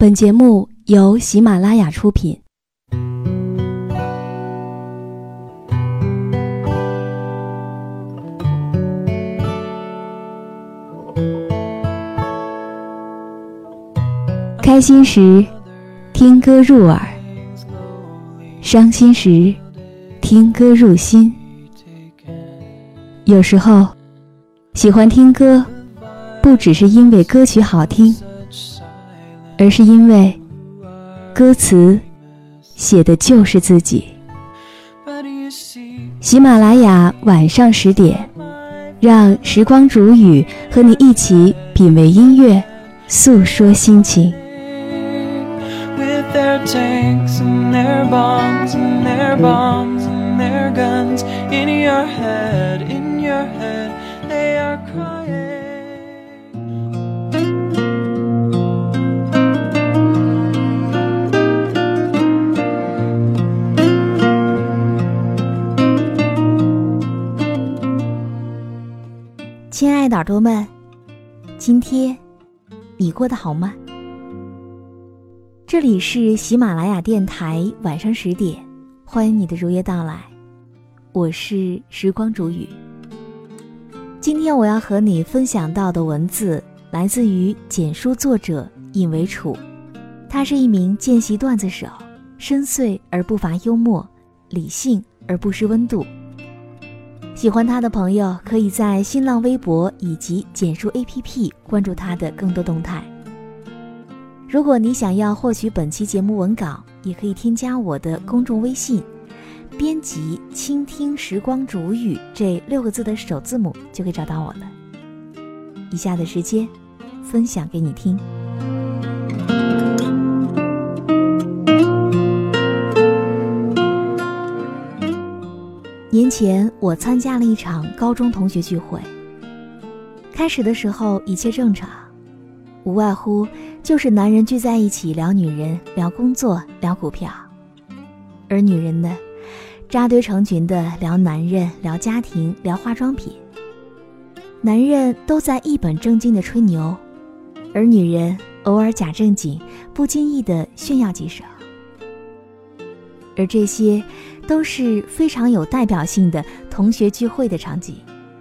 本节目由喜马拉雅出品。开心时听歌入耳，伤心时听歌入心。有时候喜欢听歌，不只是因为歌曲好听，而是因为歌词写的就是自己。喜马拉雅晚上10点，让时光煮雨和你一起品味音乐，诉说心情。 Their tanks and their bombs and their bombs and their guns in your head, they are crying. 亲爱的耳朵们，今天你过得好吗？这里是喜马拉雅电台晚上10点，欢迎你的如约到来，我是时光煮雨。今天我要和你分享到的文字来自于简书作者尹维楚，他是一名见习段子手，深邃而不乏幽默，理性而不失温度。喜欢他的朋友可以在新浪微博以及简书 APP 关注他的更多动态。如果你想要获取本期节目文稿，也可以添加我的公众微信，编辑倾听时光煮雨这6个字的首字母就可以找到我了。以下的时间分享给你听。年前我参加了一场高中同学聚会，开始的时候一切正常，无外乎就是男人聚在一起聊女人，聊工作，聊股票，而女人呢，扎堆成群的聊男人，聊家庭，聊化妆品。男人都在一本正经的吹牛，而女人偶尔假正经，不经意的炫耀几手。而这些都是非常有代表性的同学聚会的场景。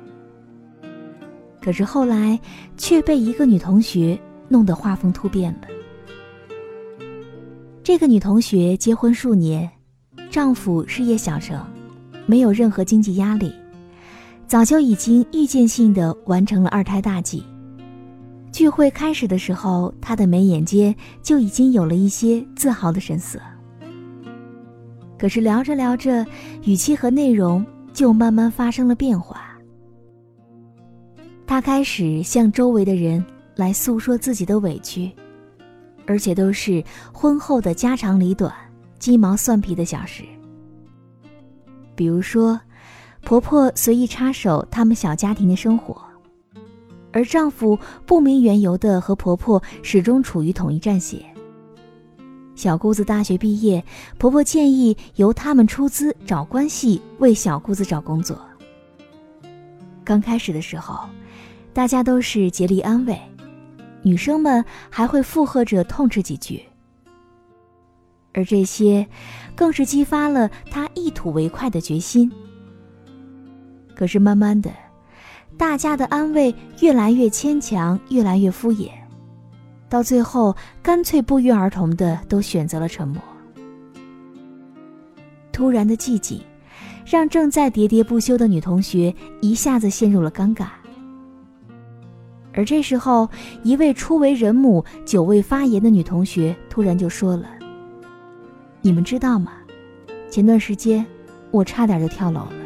可是后来却被一个女同学弄得画风突变了。这个女同学结婚数年，丈夫事业小成，没有任何经济压力，早就已经预见性地完成了2胎大计。聚会开始的时候，她的眉眼间就已经有了一些自豪的神色。可是聊着聊着，语气和内容就慢慢发生了变化。她开始向周围的人来诉说自己的委屈，而且都是婚后的家长里短、鸡毛蒜皮的小事。比如说，婆婆随意插手他们小家庭的生活，而丈夫不明缘由地和婆婆始终处于统一战线。小姑子大学毕业，婆婆建议由他们出资找关系为小姑子找工作。刚开始的时候，大家都是竭力安慰，女生们还会附和着痛斥几句，而这些更是激发了她一吐为快的决心。可是慢慢的，大家的安慰越来越牵强，越来越敷衍，到最后干脆不约而同的都选择了沉默。突然的寂静让正在喋喋不休的女同学一下子陷入了尴尬。而这时候，一位初为人母、久未发言的女同学突然就说了：“你们知道吗？前段时间我差点就跳楼了。”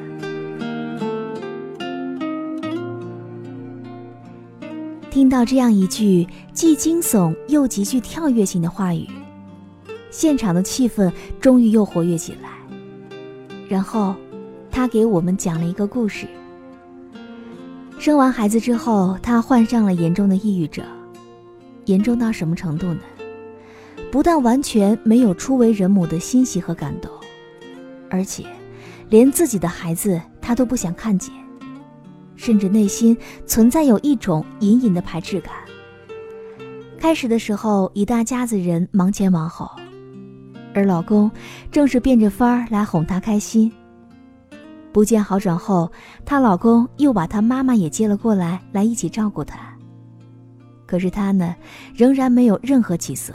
听到这样一句既惊悚又极具跳跃性的话语，现场的气氛终于又活跃起来。然后她给我们讲了一个故事。生完孩子之后，她患上了严重的抑郁症。严重到什么程度呢？不但完全没有初为人母的欣喜和感动，而且连自己的孩子她都不想看见，甚至内心存在有一种隐隐的排斥感。 开始的时候，一大家子人忙前忙后，而老公正是变着法儿来哄她开心。不见好转后，她老公又把她妈妈也接了过来，来一起照顾她。可是她呢，仍然没有任何起色。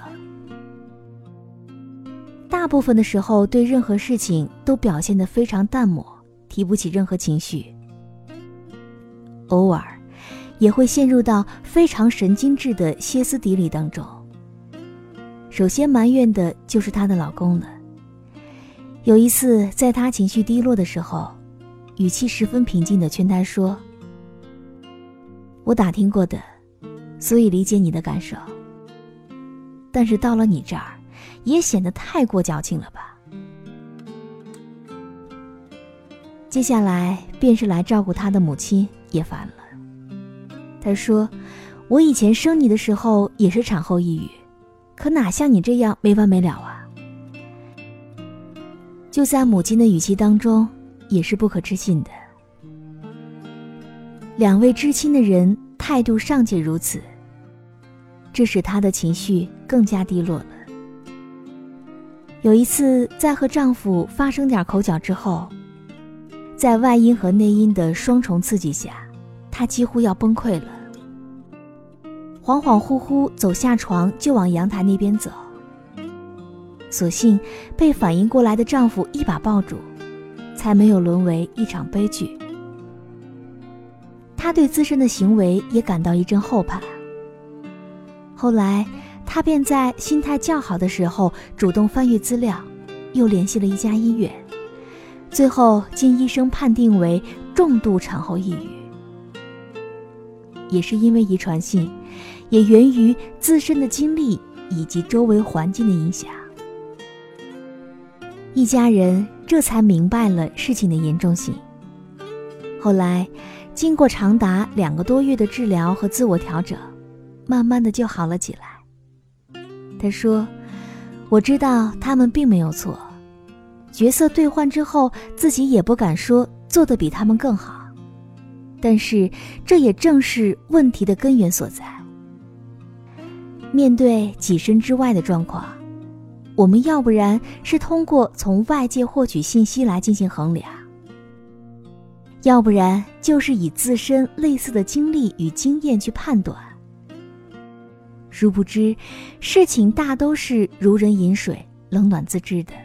大部分的时候，对任何事情都表现得非常淡漠，提不起任何情绪。偶尔也会陷入到非常神经质的歇斯底里当中。首先埋怨的就是她的老公了。有一次在她情绪低落的时候，语气十分平静地劝她说，我打听过的，所以理解你的感受，但是到了你这儿也显得太过矫情了吧。接下来便是来照顾她的母亲也烦了。她说，我以前生你的时候也是产后抑郁，可哪像你这样没完没了啊。就在母亲的语气当中，也是不可置信的。两位知亲的人态度尚且如此，这使她的情绪更加低落了。有一次在和丈夫发生点口角之后，在外因和内因的双重刺激下，她几乎要崩溃了，恍恍惚惚走下床就往阳台那边走，所幸被反应过来的丈夫一把抱住，才没有沦为一场悲剧。她对自身的行为也感到一阵后怕。后来她便在心态较好的时候主动翻阅资料，又联系了一家医院，最后经医生判定为重度产后抑郁。也是因为遗传性，也源于自身的经历以及周围环境的影响。一家人这才明白了事情的严重性。后来经过长达2个多月的治疗和自我调整，慢慢的就好了起来。他说，我知道他们并没有错，角色兑换之后自己也不敢说做得比他们更好，但是这也正是问题的根源所在。面对己身之外的状况，我们要不然是通过从外界获取信息来进行衡量，要不然就是以自身类似的经历与经验去判断。殊不知，事情大都是如人饮水，冷暖自知的。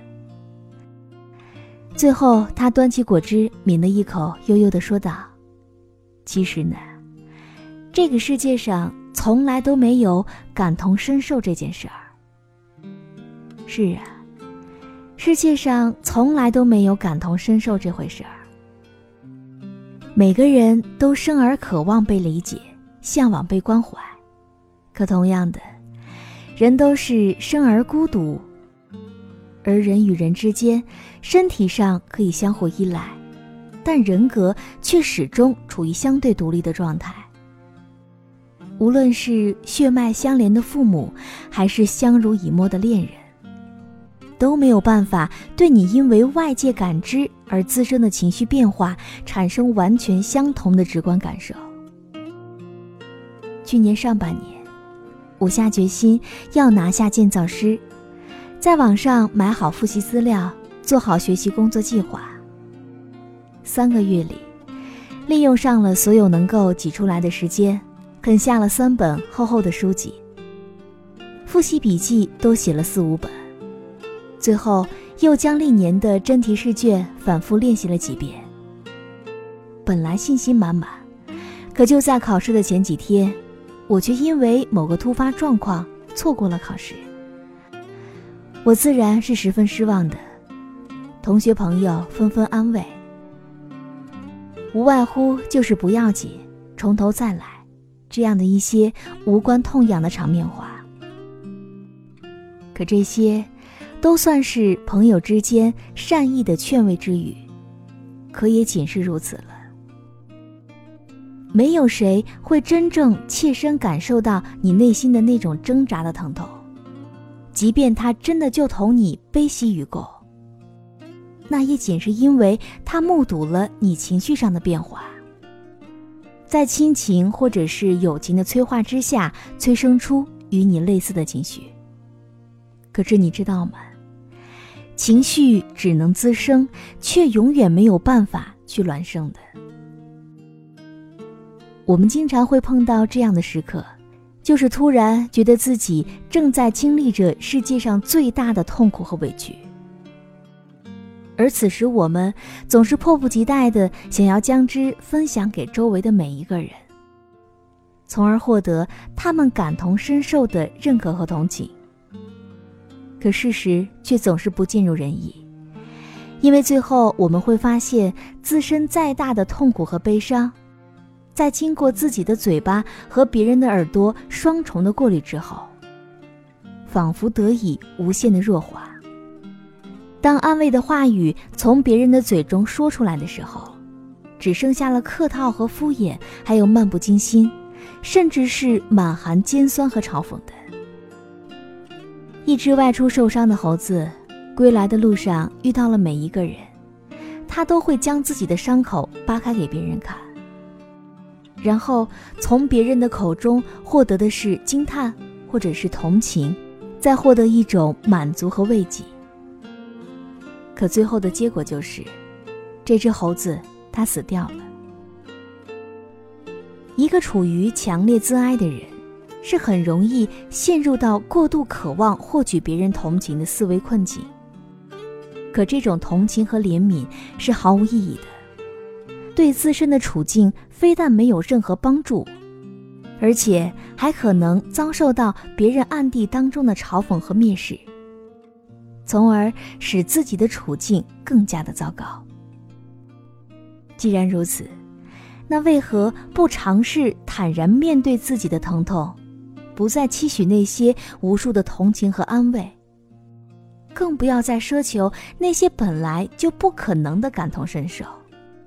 最后他端起果汁抿了一口，悠悠地说道，其实呢，这个世界上从来都没有感同身受这件事儿。是啊，世界上从来都没有感同身受这回事儿。每个人都生而渴望被理解，向往被关怀，可同样的，人都是生而孤独，而人与人之间身体上可以相互依赖，但人格却始终处于相对独立的状态。无论是血脉相连的父母，还是相濡以沫的恋人，都没有办法对你因为外界感知而滋生的情绪变化产生完全相同的直观感受。去年上半年，我下决心要拿下建造师，在网上买好复习资料，做好学习工作计划。3个月里，利用上了所有能够挤出来的时间，啃下了3本厚厚的书籍，复习笔记都写了4、5本，最后又将历年的真题试卷反复练习了几遍。本来信心满满，可就在考试的前几天，我却因为某个突发状况错过了考试。我自然是十分失望的，同学朋友纷纷安慰，无外乎就是不要紧，从头再来，这样的一些无关痛痒的场面话。可这些都算是朋友之间善意的劝慰之语，可也仅是如此了。没有谁会真正切身感受到你内心的那种挣扎的疼痛，即便他真的就同你悲喜与共，那也仅是因为他目睹了你情绪上的变化，在亲情或者是友情的催化之下，催生出与你类似的情绪。可是你知道吗？情绪只能滋生，却永远没有办法去孪生的。我们经常会碰到这样的时刻，就是突然觉得自己正在经历着世界上最大的痛苦和委屈，而此时我们总是迫不及待地想要将之分享给周围的每一个人，从而获得他们感同身受的认可和同情。可事实却总是不尽如人意，因为最后我们会发现，自身再大的痛苦和悲伤，在经过自己的嘴巴和别人的耳朵双重的过滤之后，仿佛得以无限的弱化。当安慰的话语从别人的嘴中说出来的时候，只剩下了客套和敷衍，还有漫不经心，甚至是满含尖酸和嘲讽的。一只外出受伤的猴子，归来的路上遇到了每一个人，他都会将自己的伤口扒开给别人看，然后从别人的口中获得的是惊叹或者是同情，再获得一种满足和慰藉。可最后的结果就是，这只猴子它死掉了。一个处于强烈自哀的人，是很容易陷入到过度渴望获取别人同情的思维困境。可这种同情和怜悯是毫无意义的，对自身的处境非但没有任何帮助，而且还可能遭受到别人暗地当中的嘲讽和蔑视，从而使自己的处境更加的糟糕。既然如此，那为何不尝试坦然面对自己的疼痛，不再期许那些无数的同情和安慰，更不要再奢求那些本来就不可能的感同身受。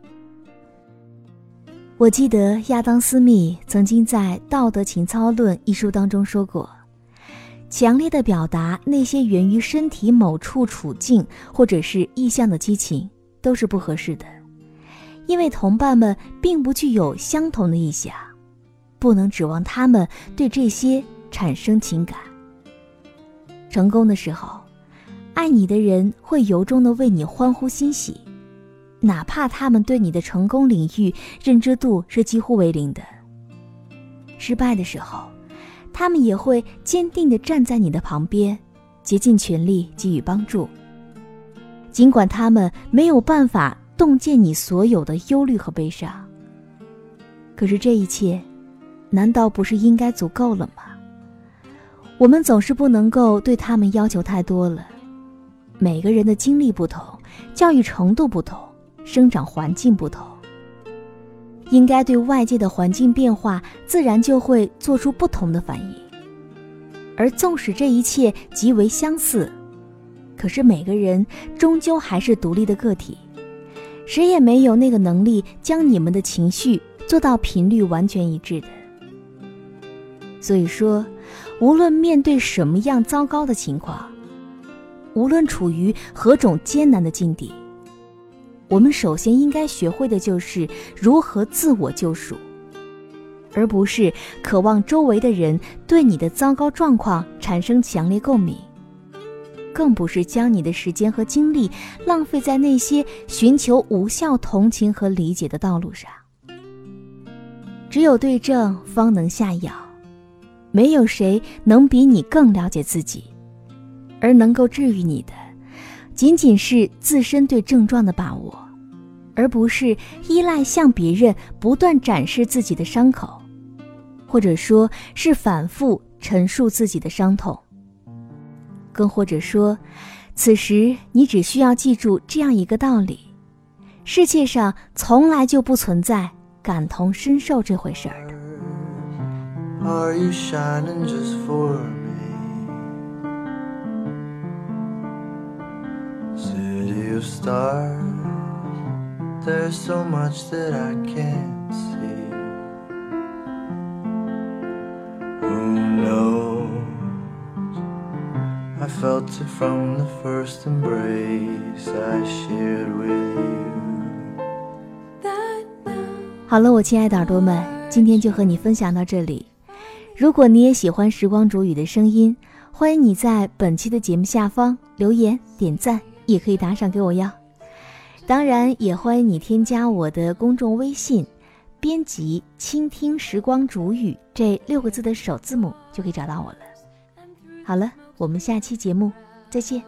我记得亚当·斯密曾经在《道德情操论》一书当中说过，强烈的表达那些源于身体某处处境或者是意象的激情都是不合适的，因为同伴们并不具有相同的意象，不能指望他们对这些产生情感。成功的时候，爱你的人会由衷地为你欢呼欣喜，哪怕他们对你的成功领域认知度是几乎为零的。失败的时候，他们也会坚定地站在你的旁边，竭尽全力给予帮助，尽管他们没有办法洞见你所有的忧虑和悲伤。可是这一切难道不是应该足够了吗？我们总是不能够对他们要求太多了。每个人的经历不同，教育程度不同，生长环境不同，应该对外界的环境变化自然就会做出不同的反应。而纵使这一切极为相似，可是每个人终究还是独立的个体，谁也没有那个能力将你们的情绪做到频率完全一致的。所以说，无论面对什么样糟糕的情况，无论处于何种艰难的境地，我们首先应该学会的就是如何自我救赎，而不是渴望周围的人对你的糟糕状况产生强烈共鸣，更不是将你的时间和精力浪费在那些寻求无效同情和理解的道路上。只有对症方能下药，没有谁能比你更了解自己，而能够治愈你的仅仅是自身对症状的把握，而不是依赖向别人不断展示自己的伤口，或者说是反复陈述自己的伤痛。更或者说，此时你只需要记住这样一个道理：世界上从来就不存在感同身受这回事儿的。 Are you shining just for me? City of stars, there's so much that I can't see. Who knows? I felt it from the first embrace I shared with you. 好了，我亲爱的耳朵们，今天就和你分享到这里。 如果你也喜欢时光煮雨的声音，欢迎你在本期的节目下方留言点赞，也可以打赏给我哟。当然也欢迎你添加我的公众微信，编辑倾听时光煮雨这6个字的首字母就可以找到我了。好了，我们下期节目再见。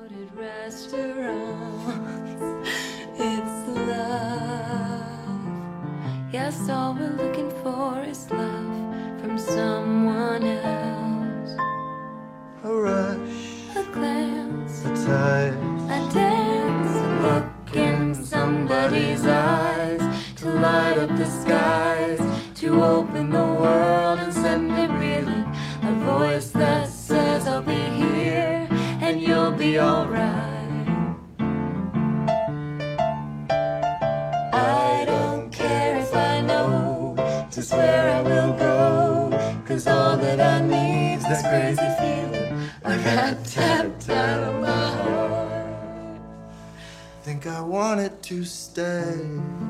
Yes, all we're looking for is love from someone else. A rush, A glance, a touch, a dance, a look in somebody's eyes, to light up the skies, to open the world and send it reeling. A voice that says I'll be here and you'll be alright. I don't care if I know just where I will go, 'cause all that I need's that crazy feeling I got tapped out of my heart. think I want it to stay.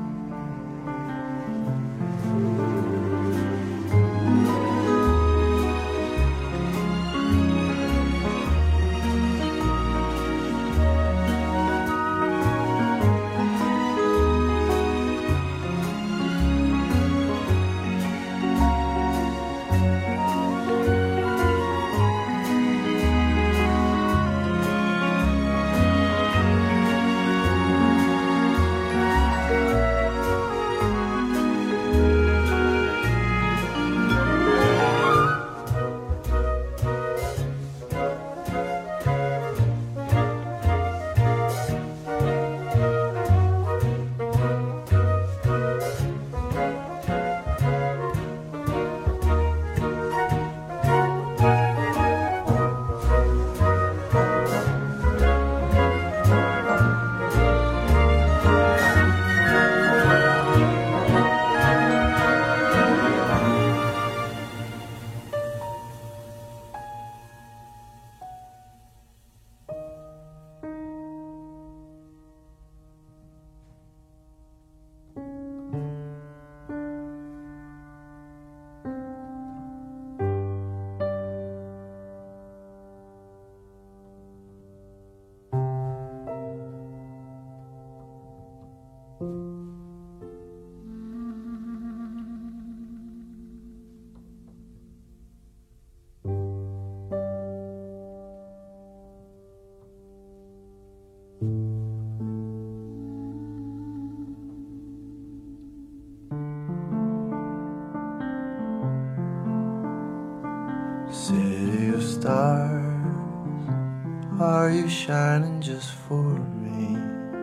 City of stars, are you shining just for me?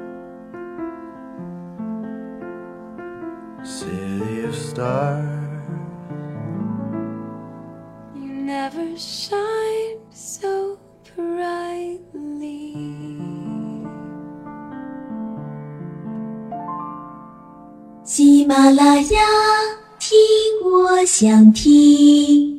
City of stars, You never shine so brightly. 喜马拉雅，听我想听。